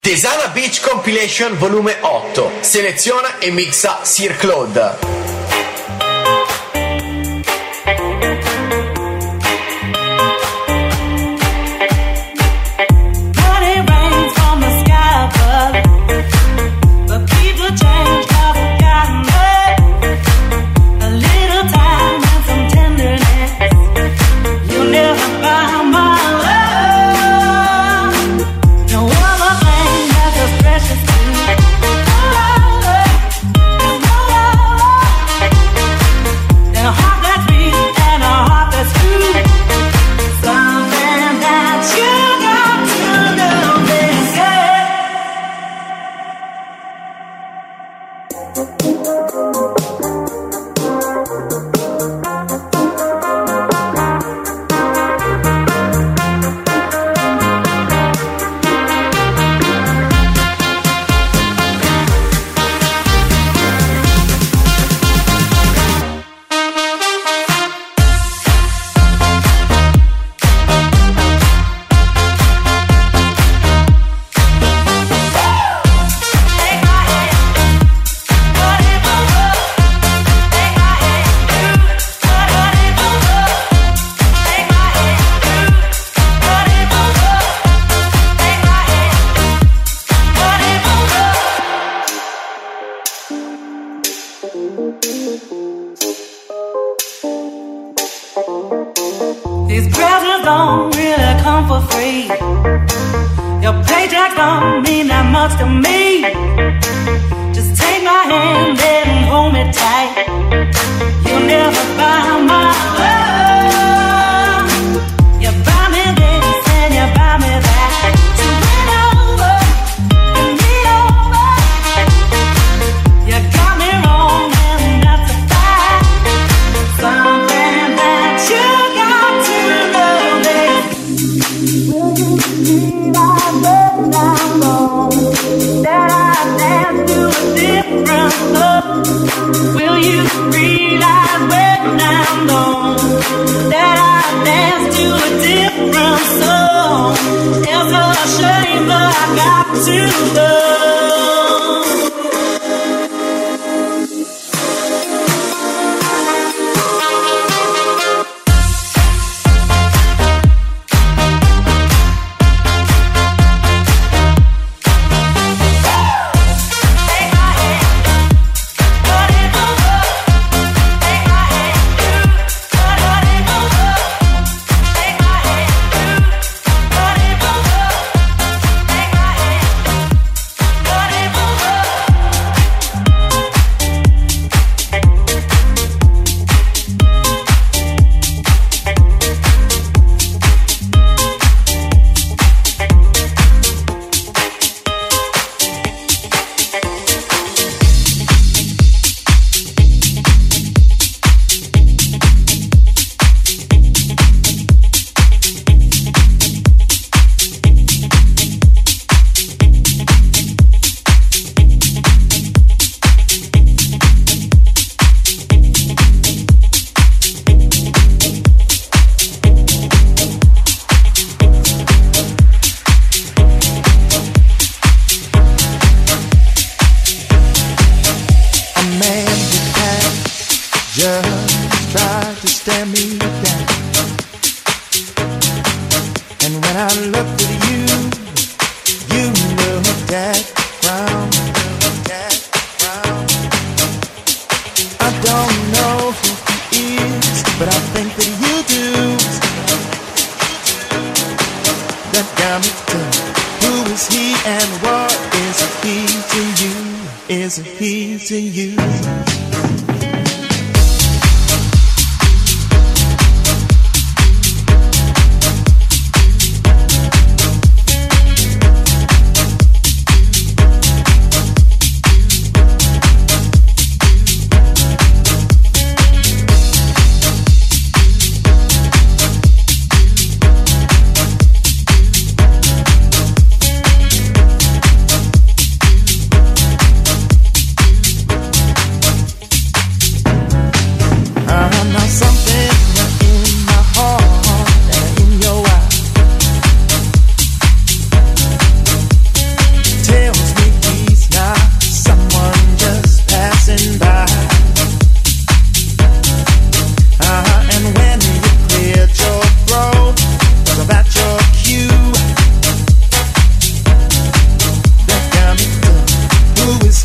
Desana Beach Compilation volume 8. Seleziona e mixa Sir Claude.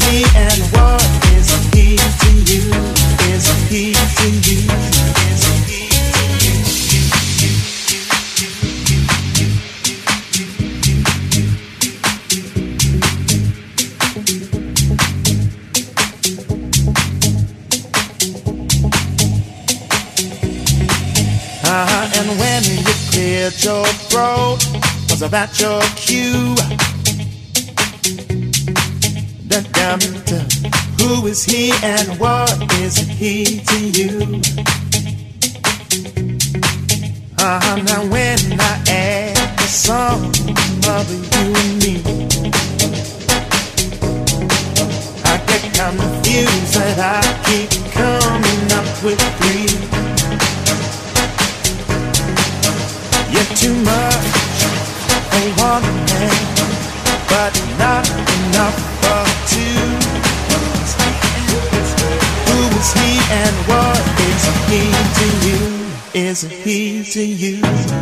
he and what is he to you? Is he to you? Is he to you? And when you cleared your throat, was that your cue? Damn it, who is he and what is he to you? Now when I add the sum of you and me, I get confused that I keep coming up with three. You're too much for one man, but not enough for two. Who is he and what is he to you? Is he to you?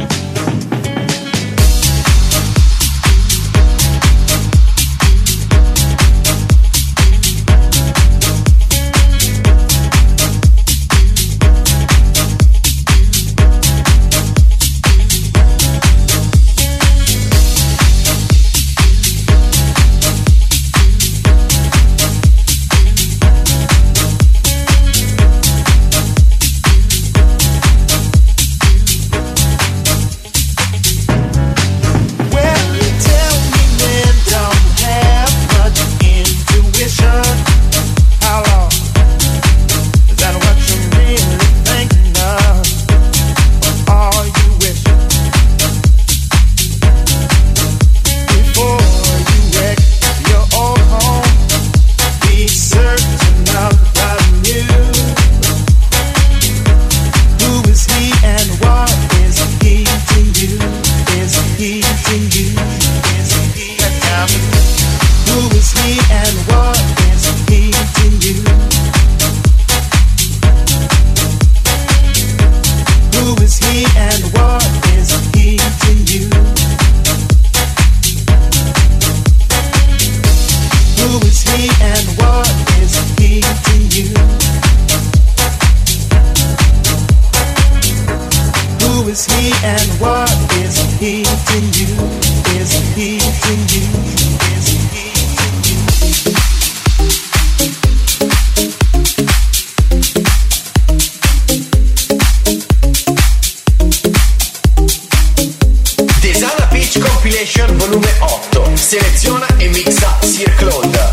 Volume 8. Seleziona e mixa Sir Claude.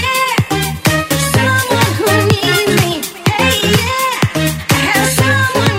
Someone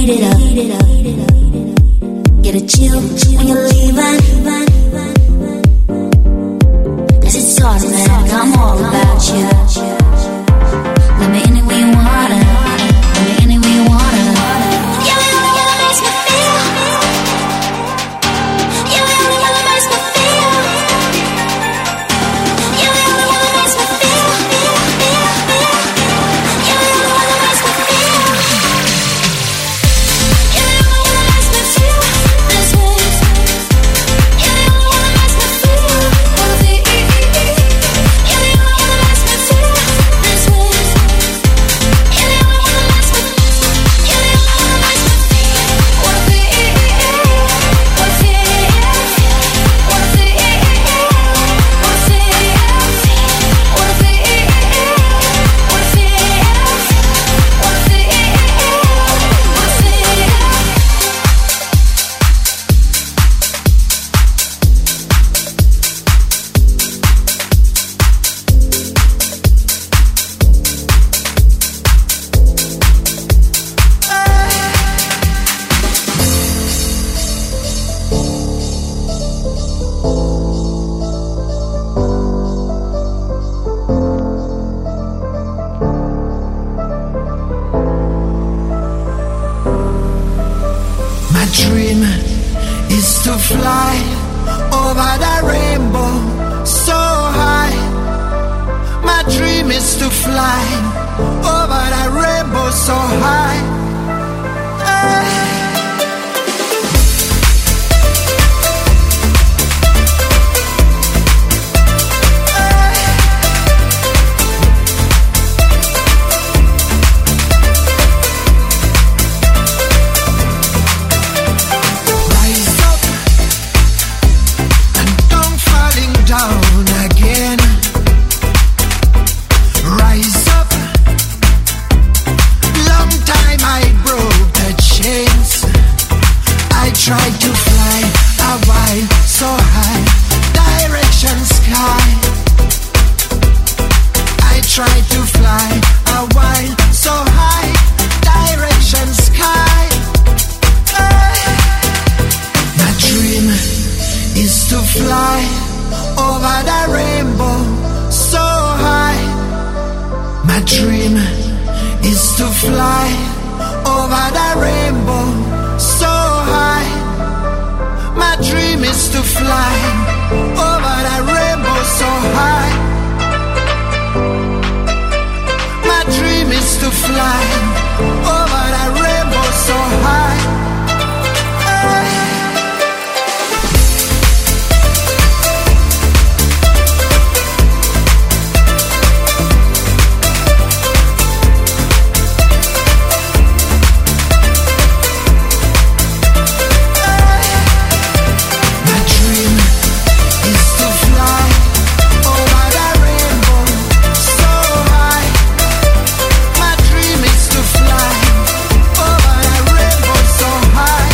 heat it up. Get a chill when you're leaving. 'Cause it's automatic, I'm all about you. Let me anywhere you wanna. Let me anywhere you wanna. You makes me feel. You makes me feel. You makes me feel. You makes me feel. You makes me feel this way. You makes me feel. Wanna feel. You makes me feel this way. You makes me. You makes me feel. Wanna feel. Wanna feel. Wanna feel. Wanna feel. Wanna feel. Wanna feel. Wanna My dream is to fly over the rainbow so high. My dream is to fly over the rainbow so high. Rise up and don't falling down again. Rise up. Long time I broke the chains. I tried to fly a while so high, direction sky. I tried to fly a while so high, direction sky. My dream is to fly over the rainbow so high. My dream is to fly over the rainbow so high. My dream is to fly over the rainbow so high. My dream is to fly over the rainbow so high. My dream is to fly over the rainbow so high. My dream is to fly over the rainbow so high.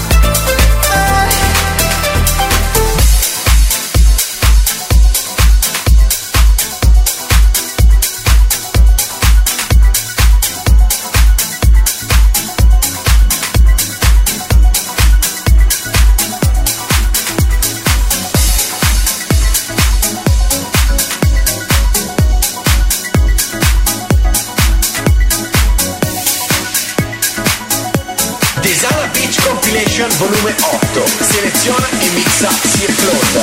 Desana Beach Compilation volume 8. Seleziona e mixa Sir Claude.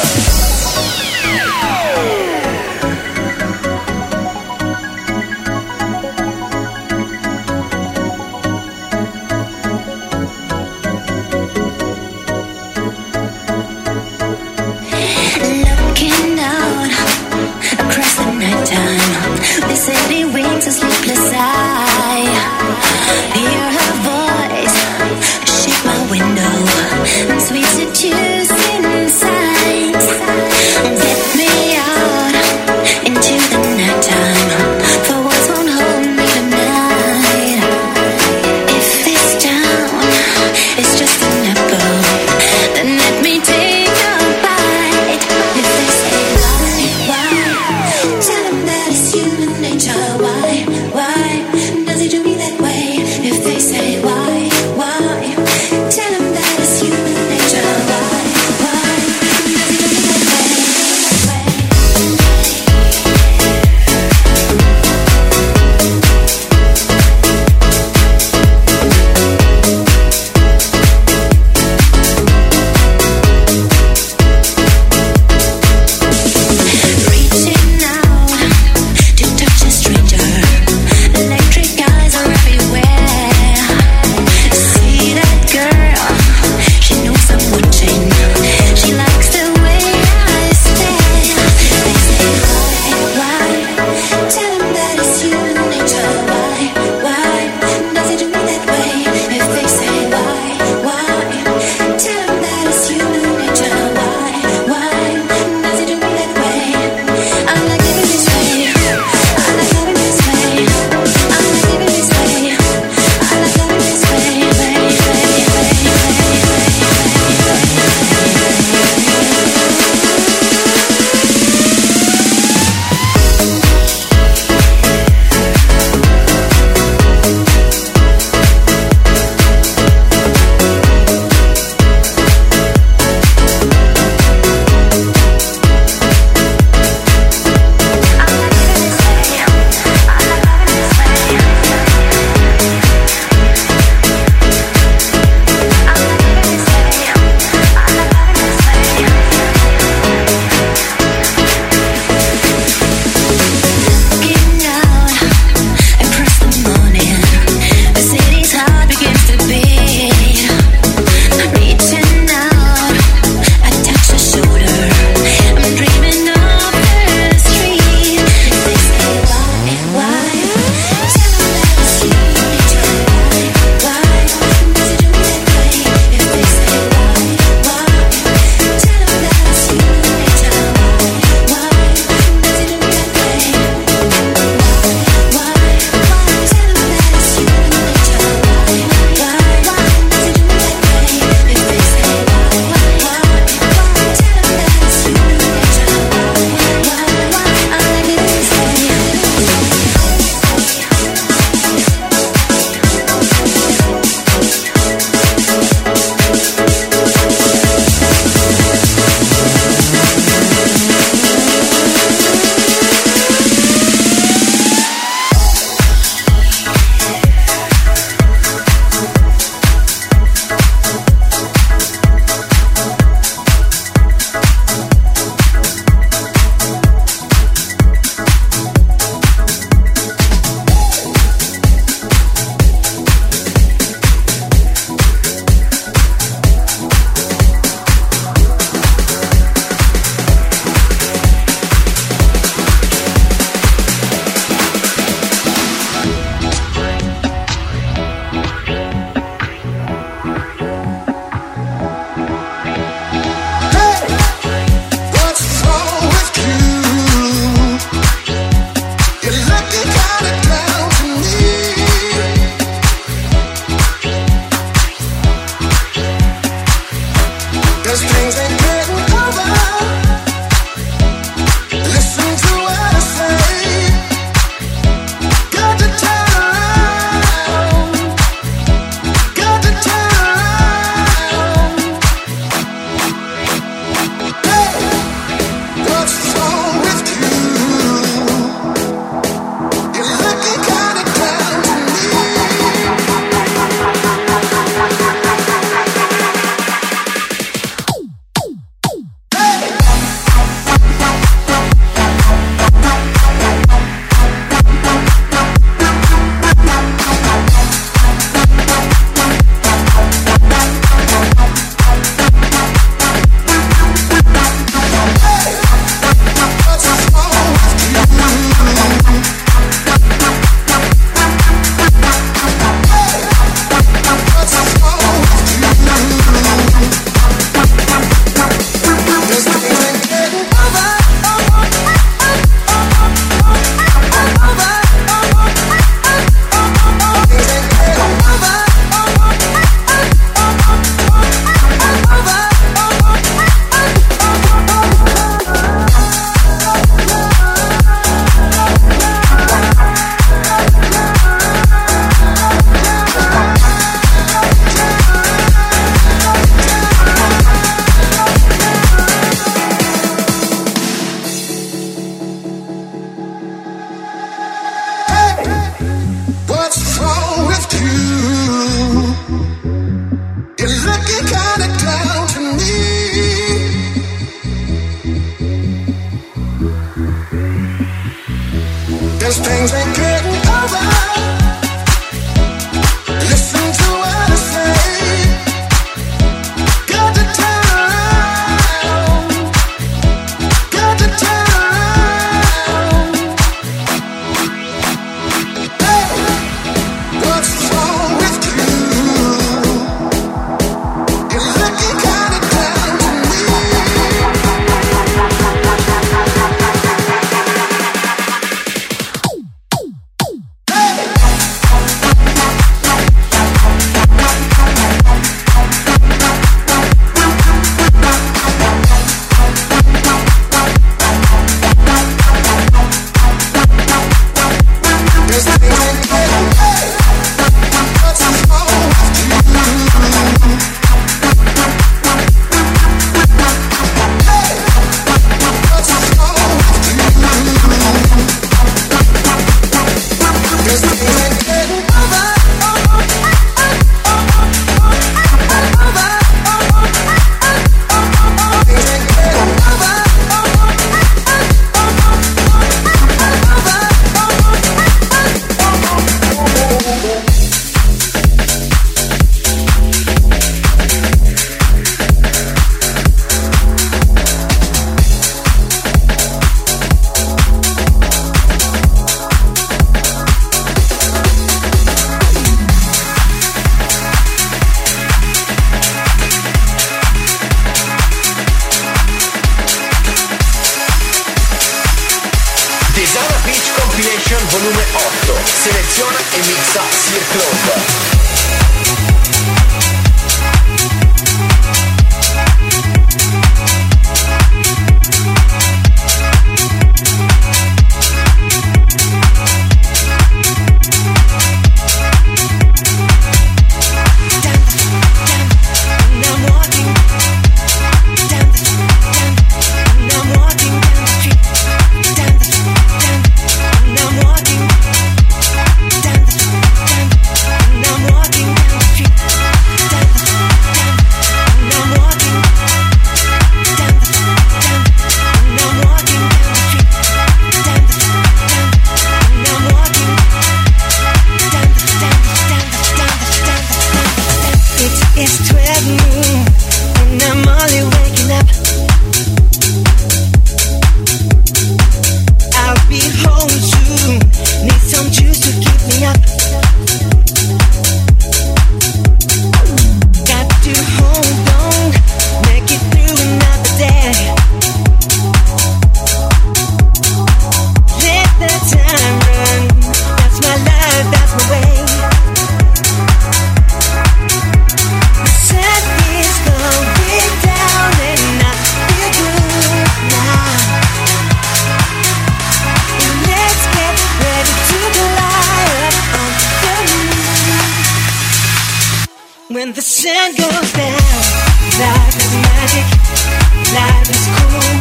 Looking out across the nighttime, the city winds a sleepless eye. Hear her voice, shake my window, sweet seducing signs. Get me out into the nighttime, for words won't hold me tonight. If this town is just an apple, then let me take a bite. If they say why, tell them that it's human nature. Why does it do me that way? If they say why, Seleziona e mixa Sir Claude. When the sun goes down, life is magic, life is cool,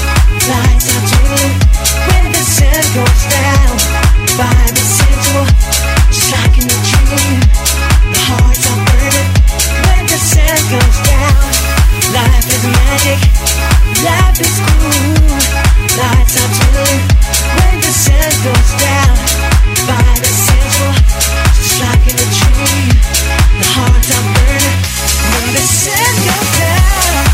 lights are twinkling. When the sun goes down, the vibe is sensual, just like in a dream. The hearts are burning. When the sun goes down, life is magic, life is cool, lights are twinkling. When the sun goes down, the vibe is sensual, just like in a dream. The hearts are burning when the sun goes down.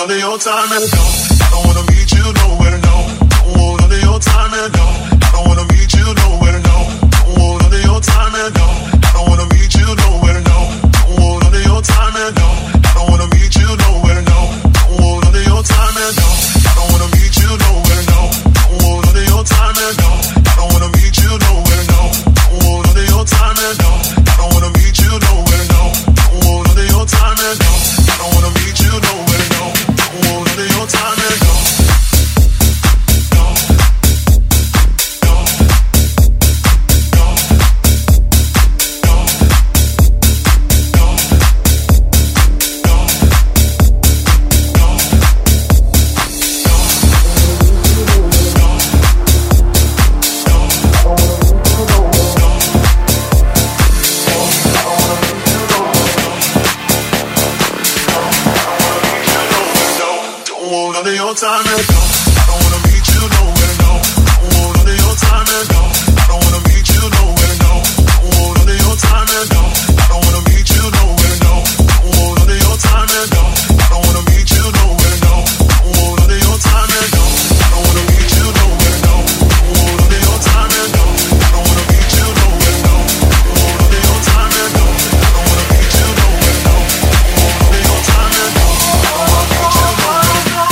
none of your time and no, I don't wanna meet you nowhere, no. Don't want none of your time and no, I don't wanna meet you nowhere, no. Don't want none of your time and no, I don't wanna meet you nowhere, no. Don't want none of your time and no, I don't wanna meet you nowhere, no. Don't want none of your time and no, I don't wanna meet you nowhere, no. Don't want none of your time and no, I don't wanna meet you nowhere, no. Don't want none of your time and no, I don't wanna meet you nowhere, no. Don't want none of your time and no, I don't wanna meet you nowhere, no. Don't want none of your time and no. Your time and no, I don't wanna meet you nowhere, no. Don't want none of your time and no, I don't wanna meet you nowhere, no. Don't want none of your time and no, I don't wanna meet you nowhere, no. Don't want none of your time and no, I don't wanna meet you nowhere, no. Don't want none of your time and no, I don't wanna meet you nowhere, no. Don't want none of your time and no, I don't wanna meet you nowhere, no. Don't want none of your time and no, I don't wanna meet you nowhere, no. Don't want none of your time and no, I don't wanna meet you nowhere, no.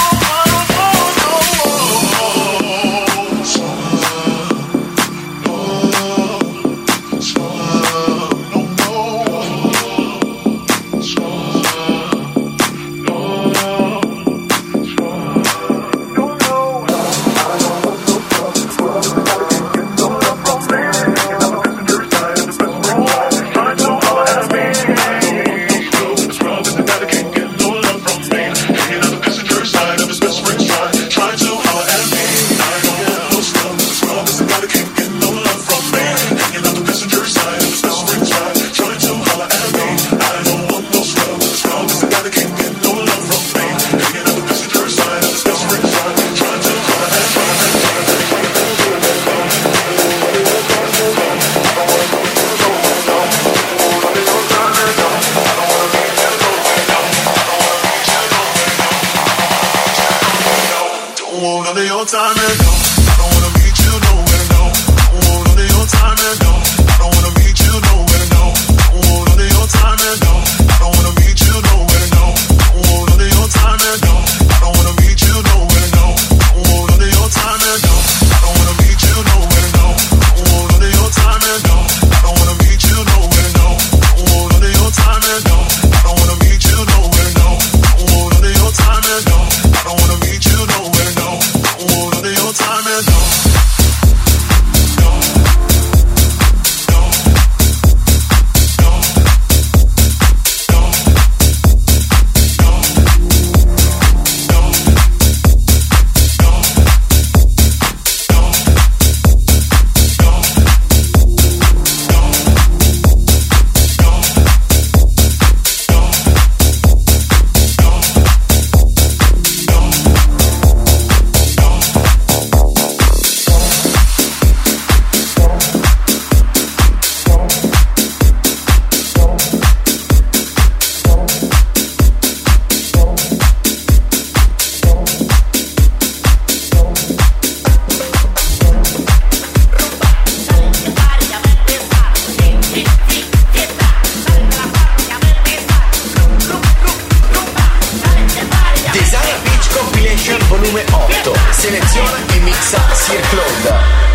volume 8. Seleziona e mixa Sir Claude.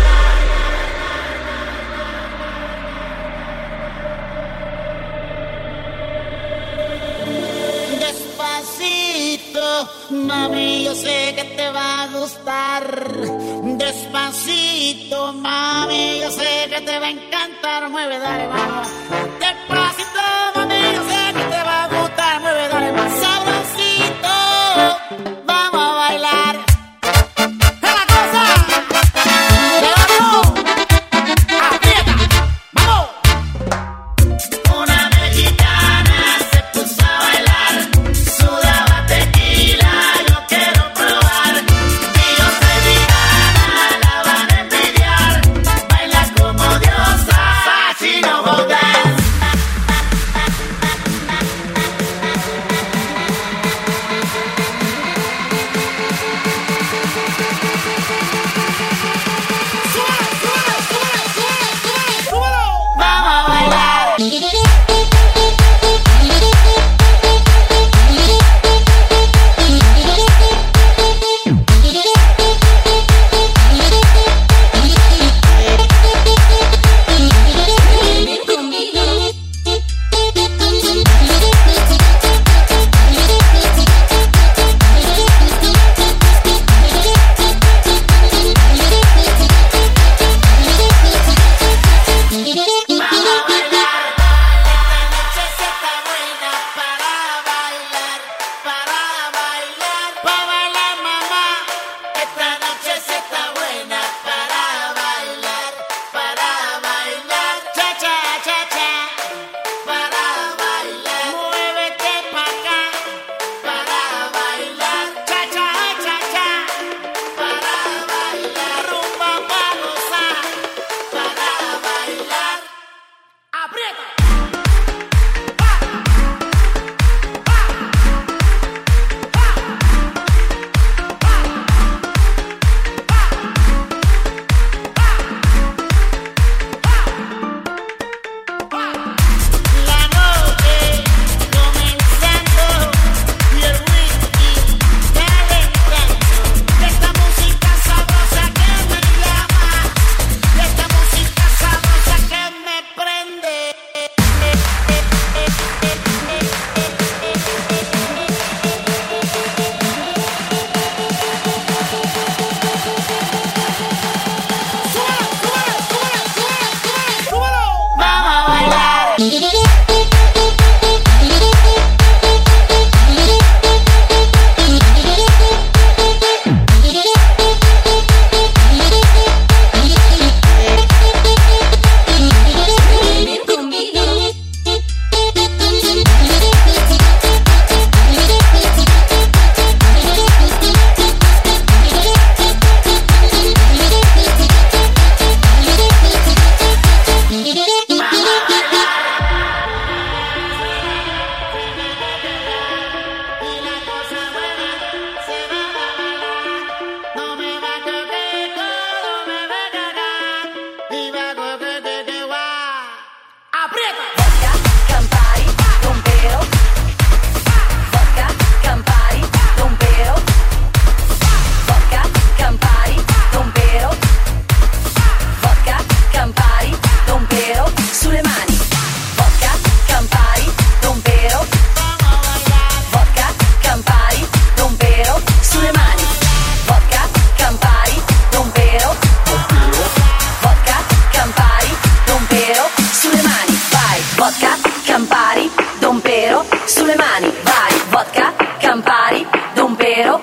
Mami, yo sé que te va a gustar. Despacito, mami, yo sé que te va a encantar. Mueve, dale, vamos. Despacito, mami, yo sé que te va a gustar. Mueve, dale, más sabrosito. Vamos a bailar. ¡Es la cosa! ¡Levantó! ¡Aprieta! ¡Vamos! Una mexicana se puso a bailar. Sudaba tequila, yo quiero probar. Y yo soy vegana, la van a envidiar. Baila como diosa, Sachi no go dance.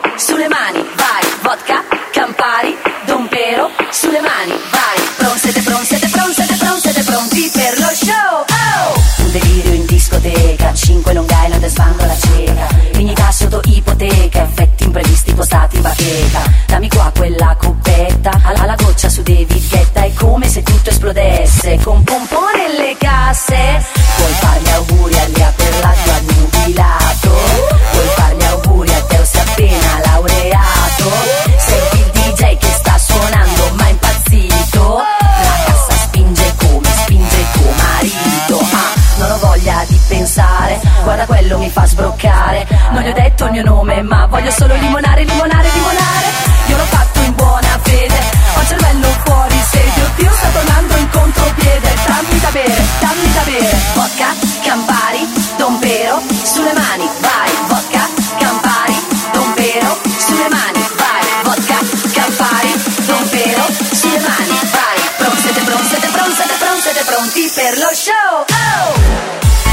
sulle mani, vai, vodka, Campari, Don Pero, sulle mani, vai, siete pronti per lo show, oh! Un delirio in discoteca, 5 Long Island e sbando la cieca, dignità sotto ipoteca, effetti imprevisti postati in bacheca, dammi qua quella coppetta, alla goccia su David Guetta, è come se tutto esplodesse, con pompone nelle casse, puoi fargli auguri a Lia per l'addio annubilato, puoi fargli auguri a Teo se appena laureato, senti il DJ che sta suonando ma è impazzito, la cassa spinge come tuo marito, non ho voglia di pensare, guarda quello mi fa sbroccare, non gli ho detto il mio nome ma voglio solo limonare, io l'ho fatto in buona fede, ho il cervello fuori sede, oddio sta tornando in contropiede, dammi da bere, vodka, Campari, Don Pero, sulle mani, vai, vodka, Campari, Don Pero, sulle mani, vai, vodka, Campari, Don Pero, sulle mani, vai, siete pronti per lo show, oh!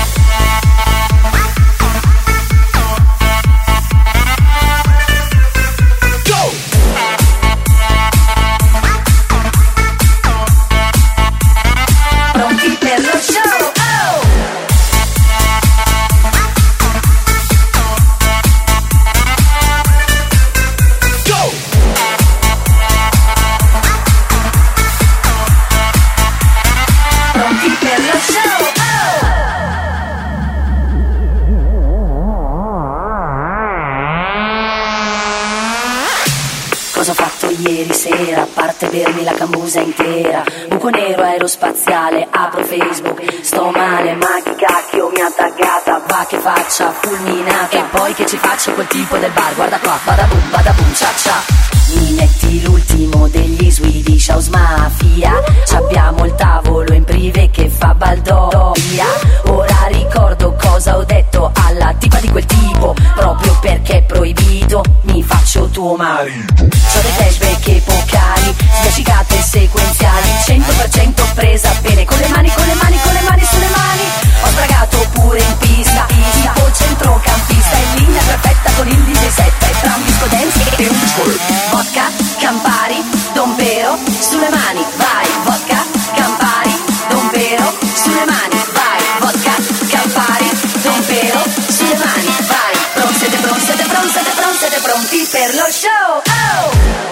Ieri sera, a parte bermi la cambusa intera, buco nero aerospaziale, apro Facebook, sto male, ma chi cacchio mi ha taggata, va che faccia fulminata, e poi che ci faccio quel tipo del bar, guarda qua, bada boom, cia cia. Mi metti l'ultimo degli Swedish House Mafia, c'abbiamo il tavolo in privé che fa baldoria, ora ricordo cosa ho detto alla tipa di quel tipo, proprio perché è proibito, mi faccio tuo marito. C'ho dei flashback epocali, sbiascicate sequenziali, 100% presa bene, con le mani sulle mani, ho sbragato pure in pista, tipo centrocampista, in linea perfetta con il DJ set, e tra un disco dance e un vodka, Campari, Don Pero, sulle mani, vai, vodka, Campari, Don Pero, sulle mani, vai, vodka, Campari, Don Pero, sulle mani, vai, siete pronti per lo show, oh!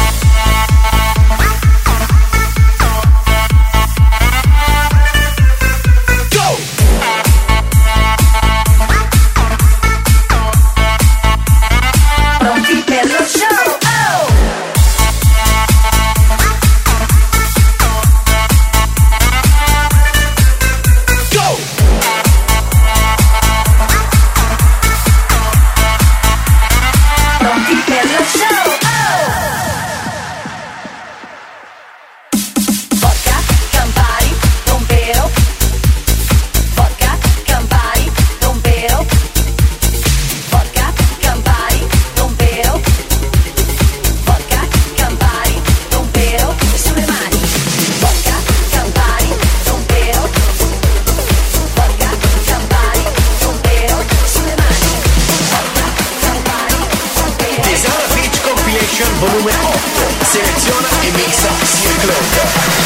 Volume 8, seleziona e mixa Sir Claude.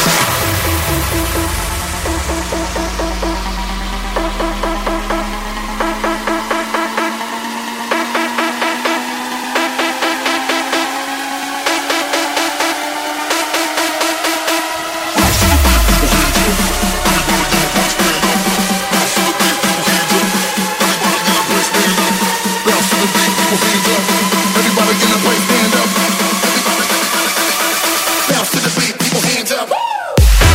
Bounce to the beat, people hands up.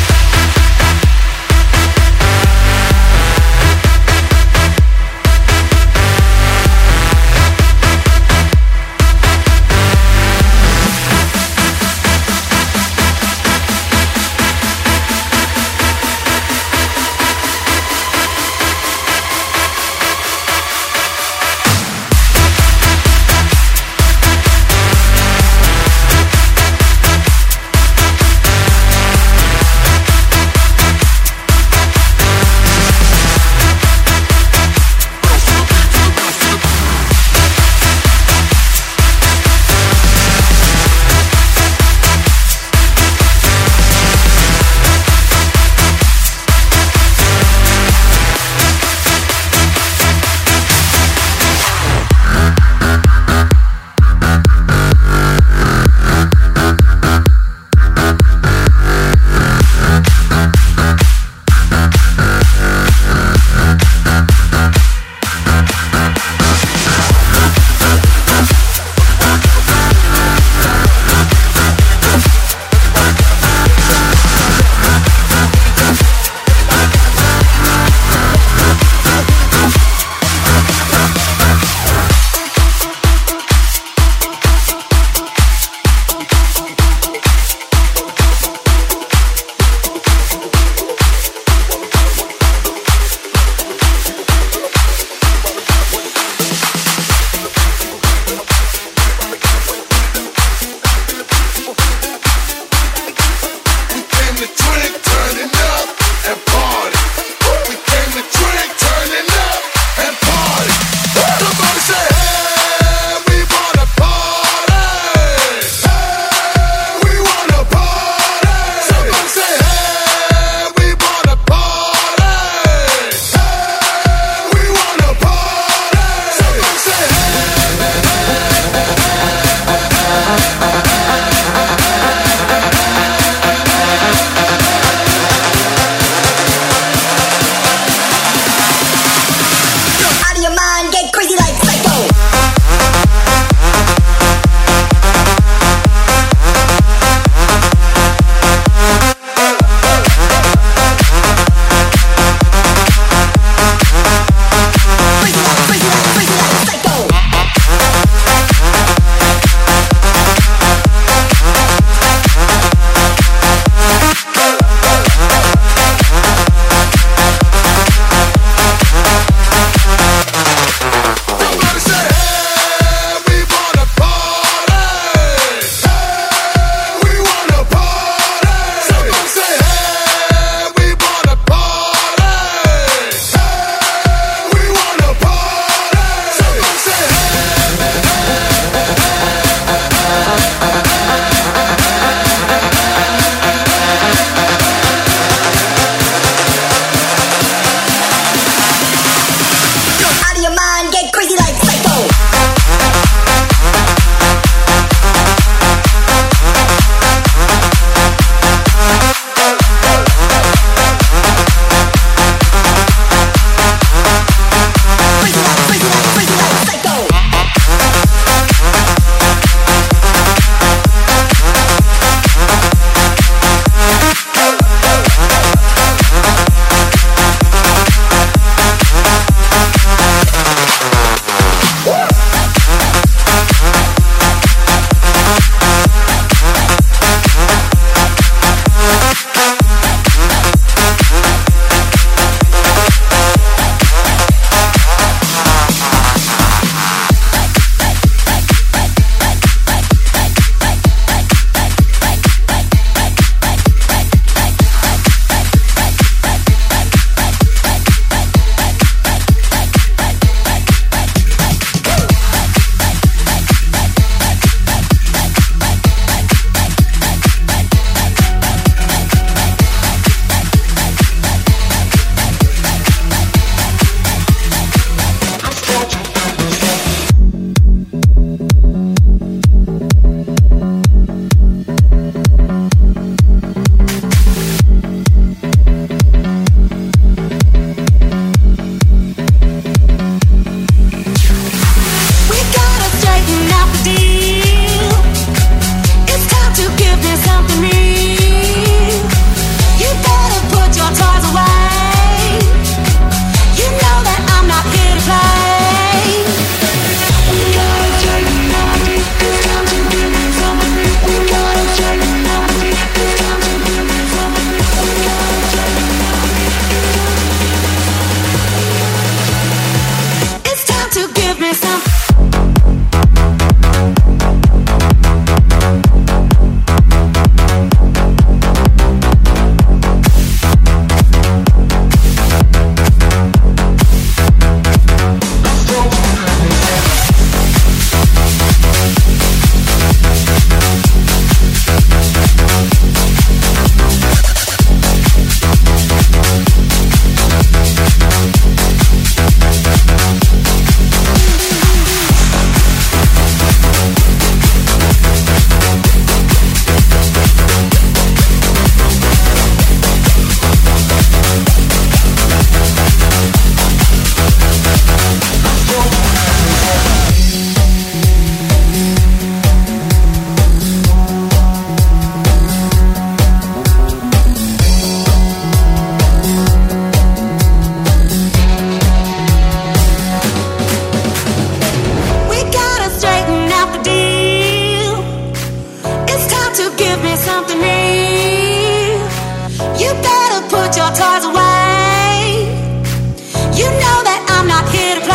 give me something real. You better put your toys away. You know that I'm not here to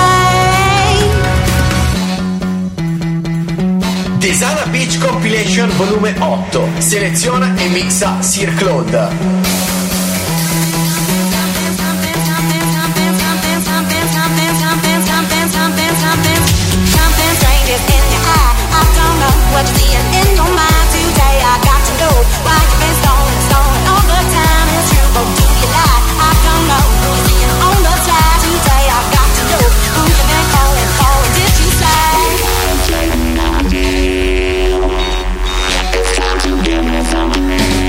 play. Desana Beach Compilation volume 8. Seleziona e mixa Sir Claude. What you seeing in your mind today? I got to know why you've been stalling all the time. It's true, or do you lie? I don't know who you're seeing on the side today. I got to know who you've been calling. Did you say? It's time to give me something.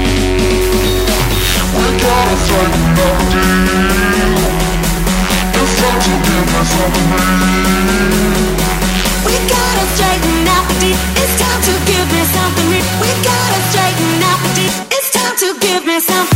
We gotta straighten out the deal. It's time to give me something. We gotta straighten out the deal. It's time to give me something real. We gotta straighten out the deal. It's time to give me something.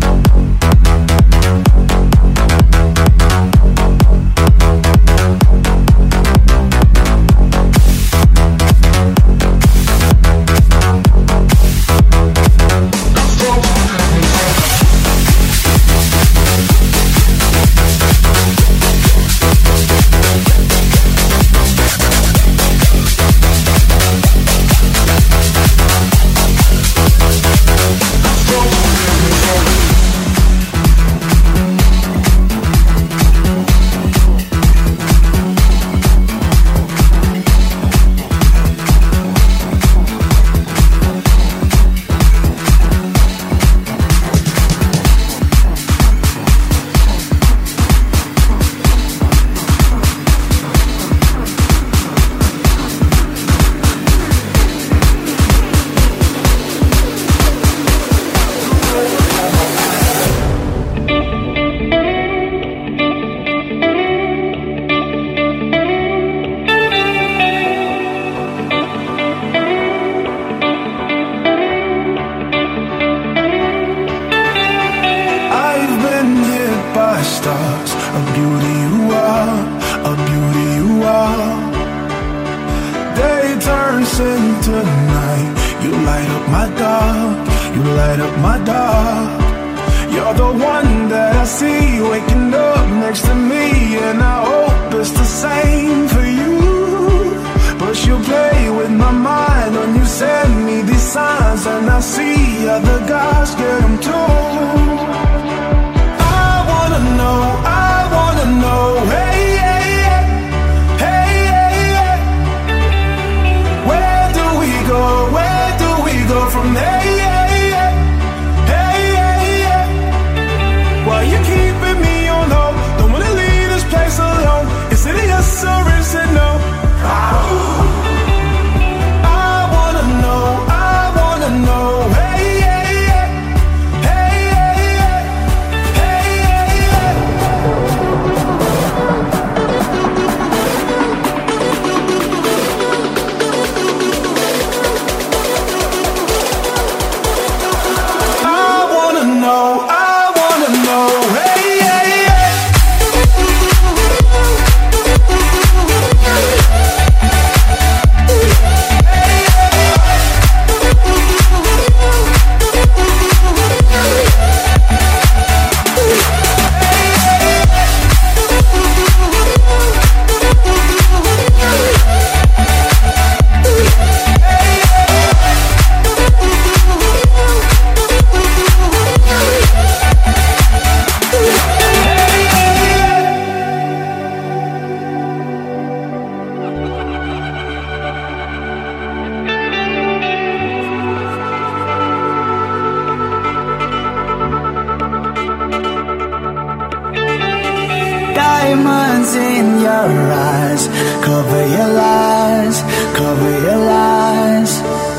Diamonds in your eyes, cover your lies, cover your lies.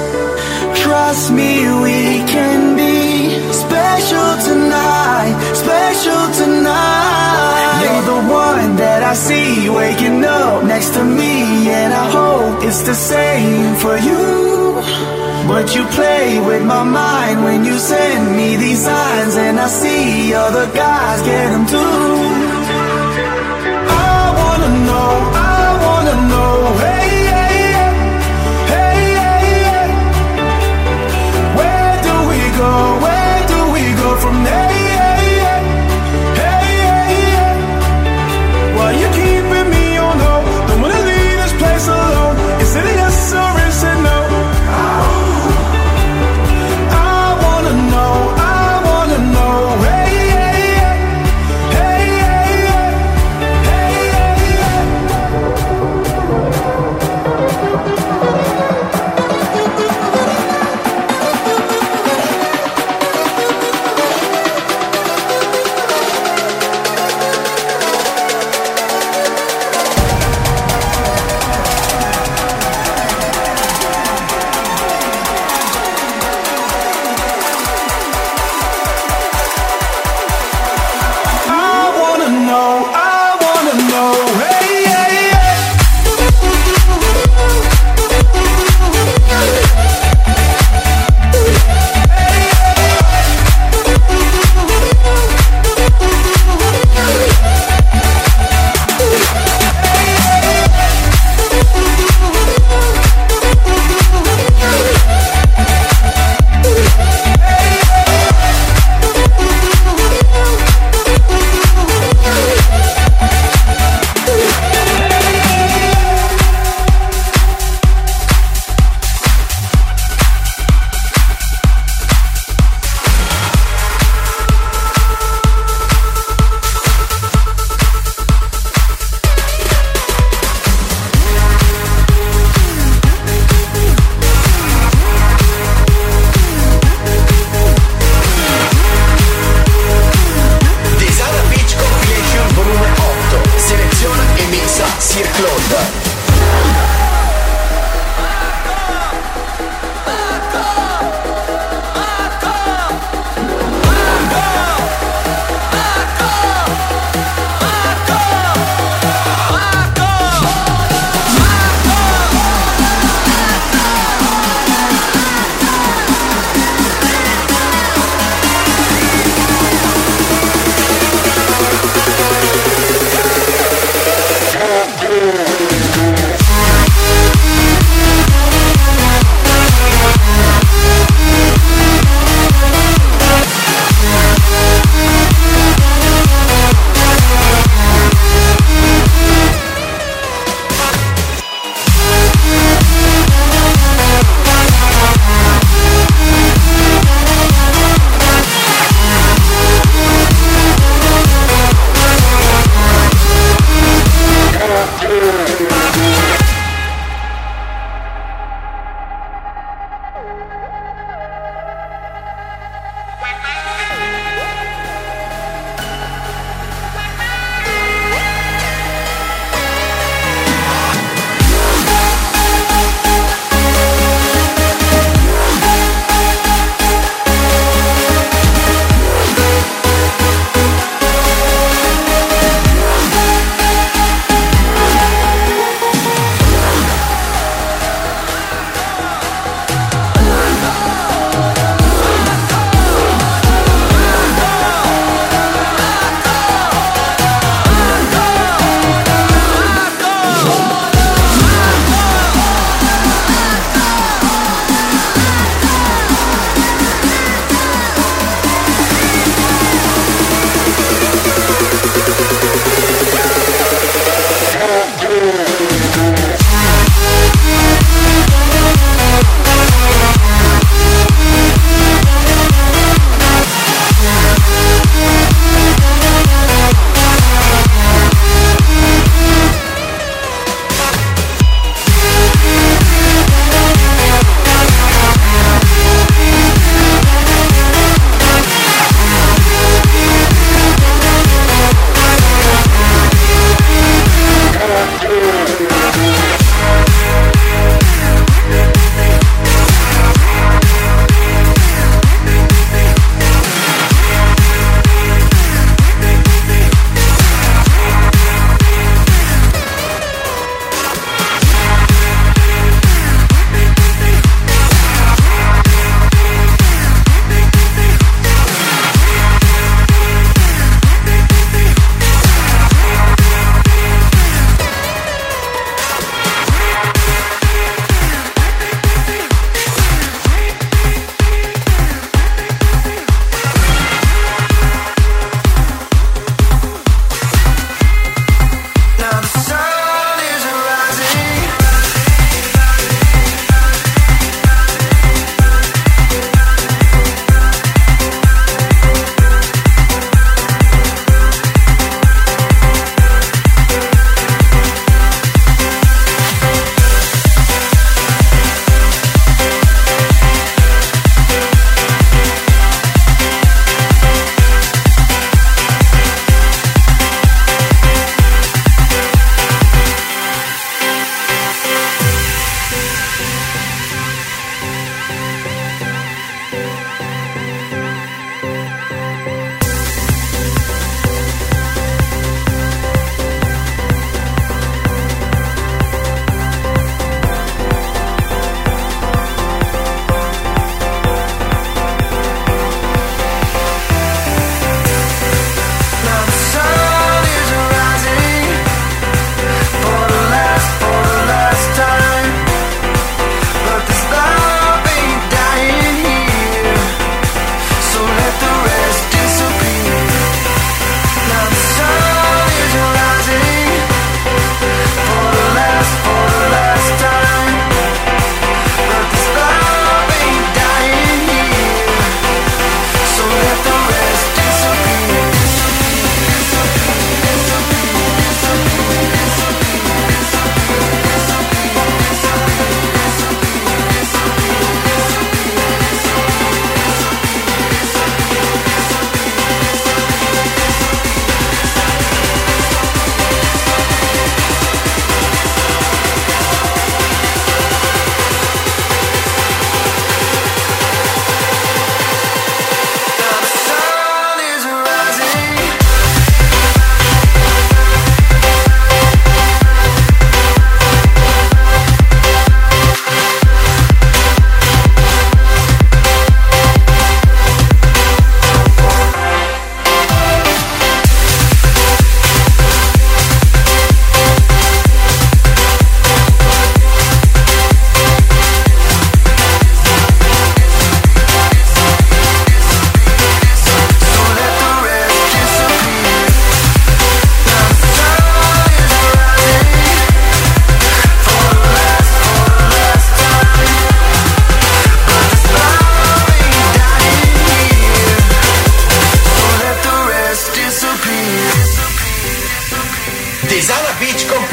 Trust me, we can be special tonight, special tonight. You're the one that I see waking up next to me, and I hope it's the same for you. But you play with my mind when you send me these signs, and I see other guys get them too. I wanna know, hey, hey, hey, hey, hey, where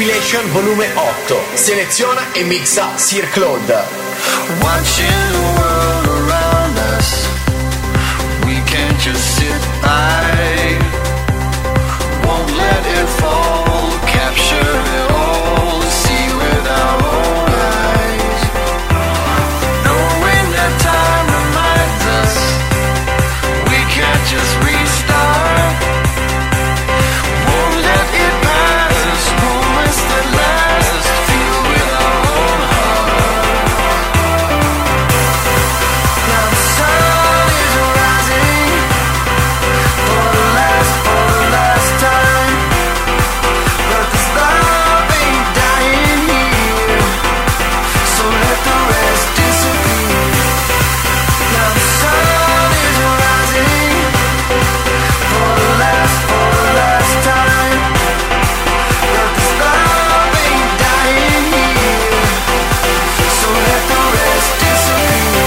Compilation volume 8. Seleziona e mixa Sir Claude. Watching the world around us, we can't just sit by. Won't let it fall, capture it all, see with our own eyes. Knowing that time reminds us, we can't just restart. Won't let it pass, moments that last, feel with our own heart. Now the sun is rising for the last time, but this love ain't dying here, so let the rest disappear. Now the sun is rising for the last time, but this love ain't dying here, so let the rest disappear.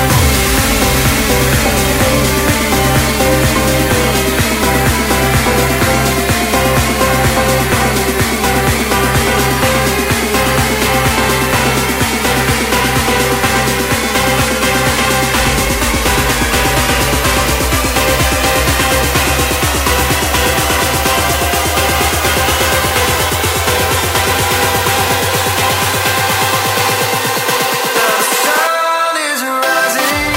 The sun is rising.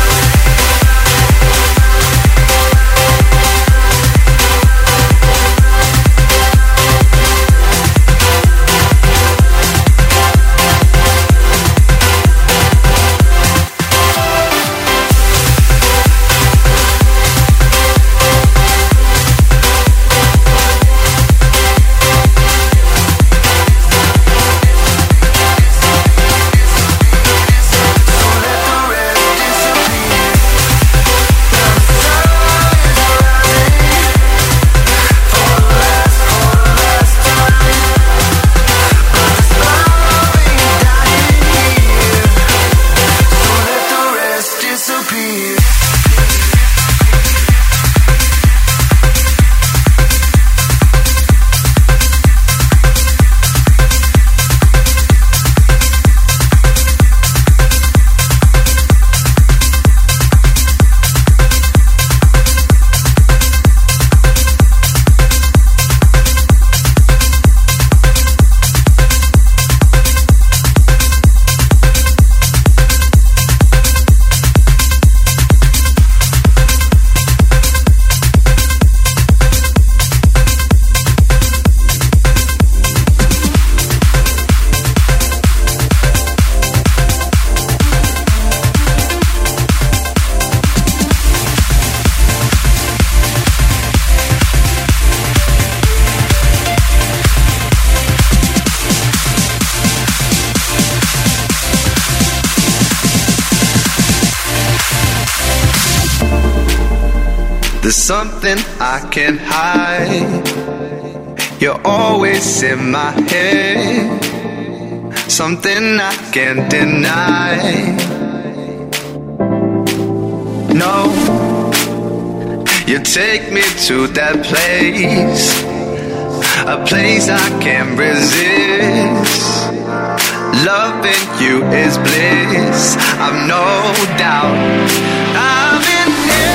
There's something I can't hide. You're always in my head. Something I can't deny. No, you take me to that place, a place I can't resist. Loving you is bliss, I've no doubt. I'm in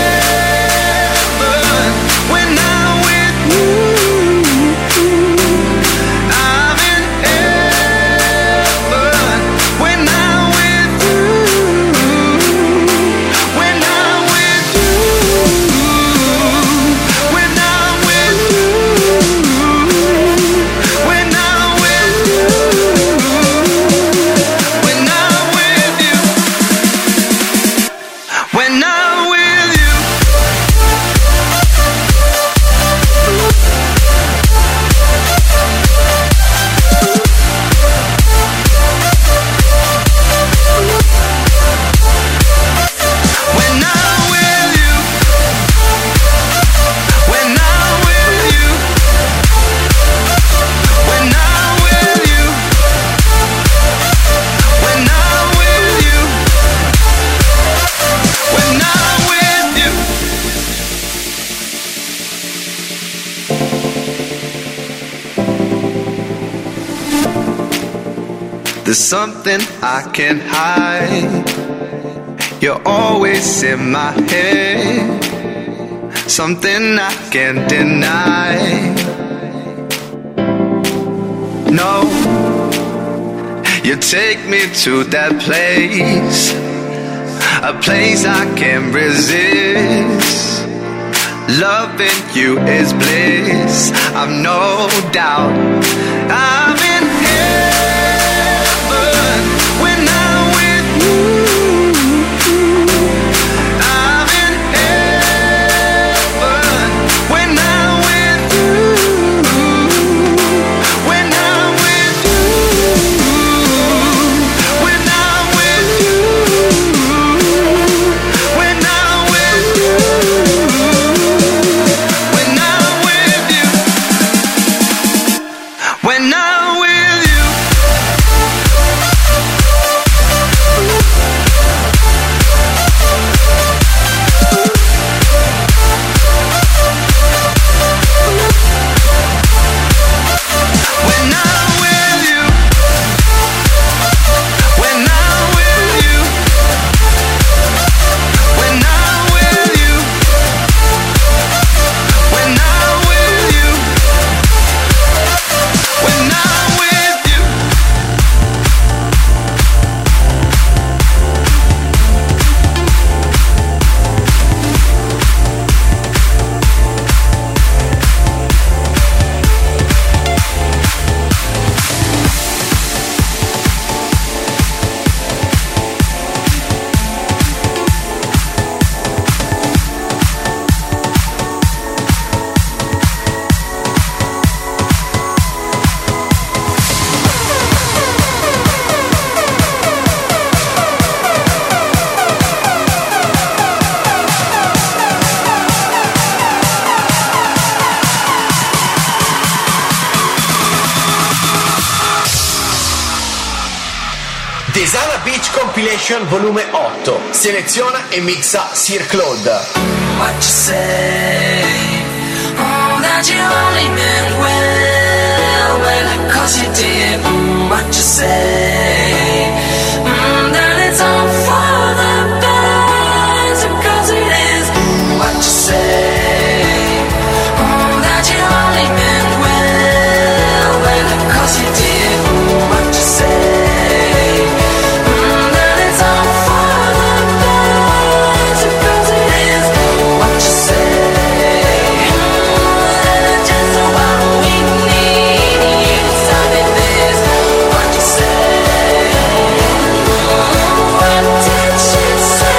heaven when I'm with you. I'm in heaven when I'm with you. When I'm with you. When I'm with you. When I'm with you. When I'm with you. When There's something I can't hide. You're always in my head. Something I can't deny. No, you take me to that place, a place I can't resist. Loving you is bliss, I've no doubt. I'm in heaven when I'm with you. I'm in heaven when I'm with you. When I'm with you. When I'm with you. When I'm with you. When I'm with you. When I'm with you. When I'm with you. When I'm with you. When I'm with you. When I'm with you. When I'm with you. Desana Beach Compilation volume 8. Seleziona e mixa Sir Claude. What you say? Oh, that you only meant well, 'cause you did. What you say? That it's all for the best, 'cause it is. What you say? Oh, that you only meant well, 'cause you did. What you say? That it's all for the best, 'cause it is. What you say? Just what we need. You decided this. What you say? What did she say?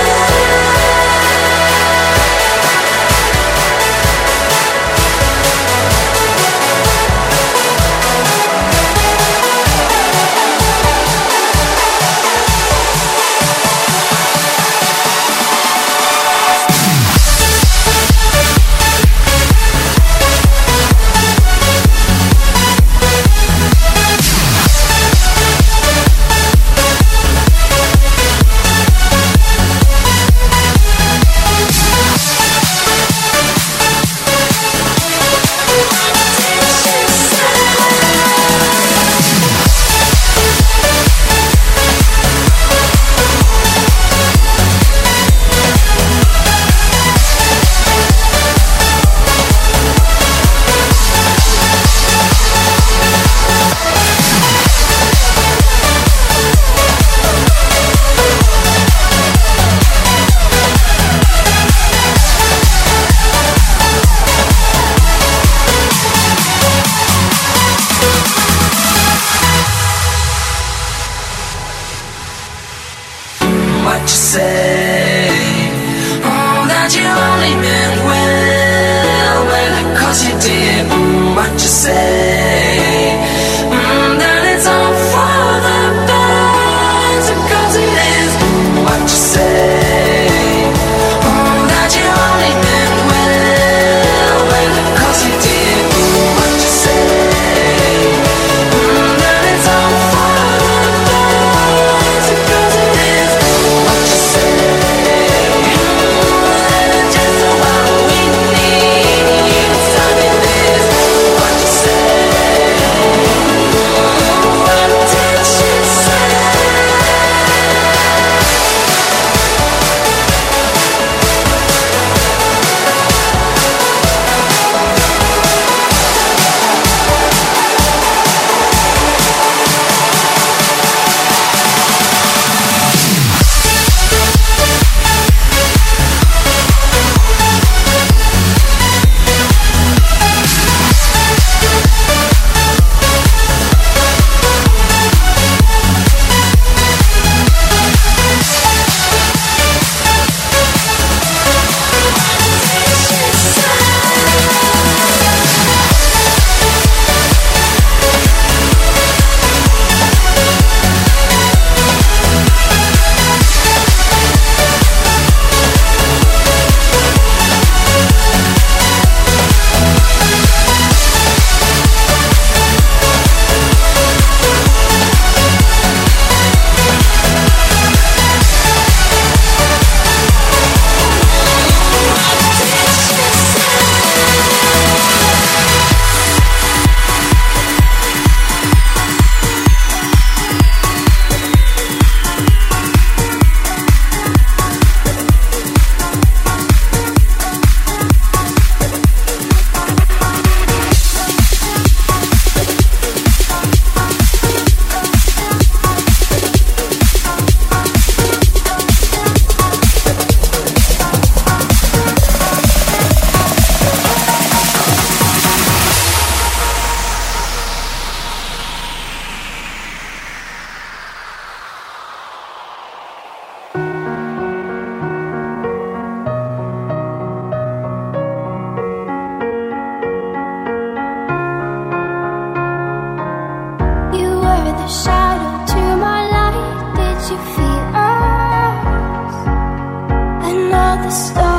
What you say? Oh, that you only meant well, 'cause you did. What you say? That it's all for the best, 'cause it is. What you say? Oh, that you only meant well, 'cause you did. What you say? That it's all for the best, 'cause it is. What you say? Just what we need. You decided this. What you say? stars.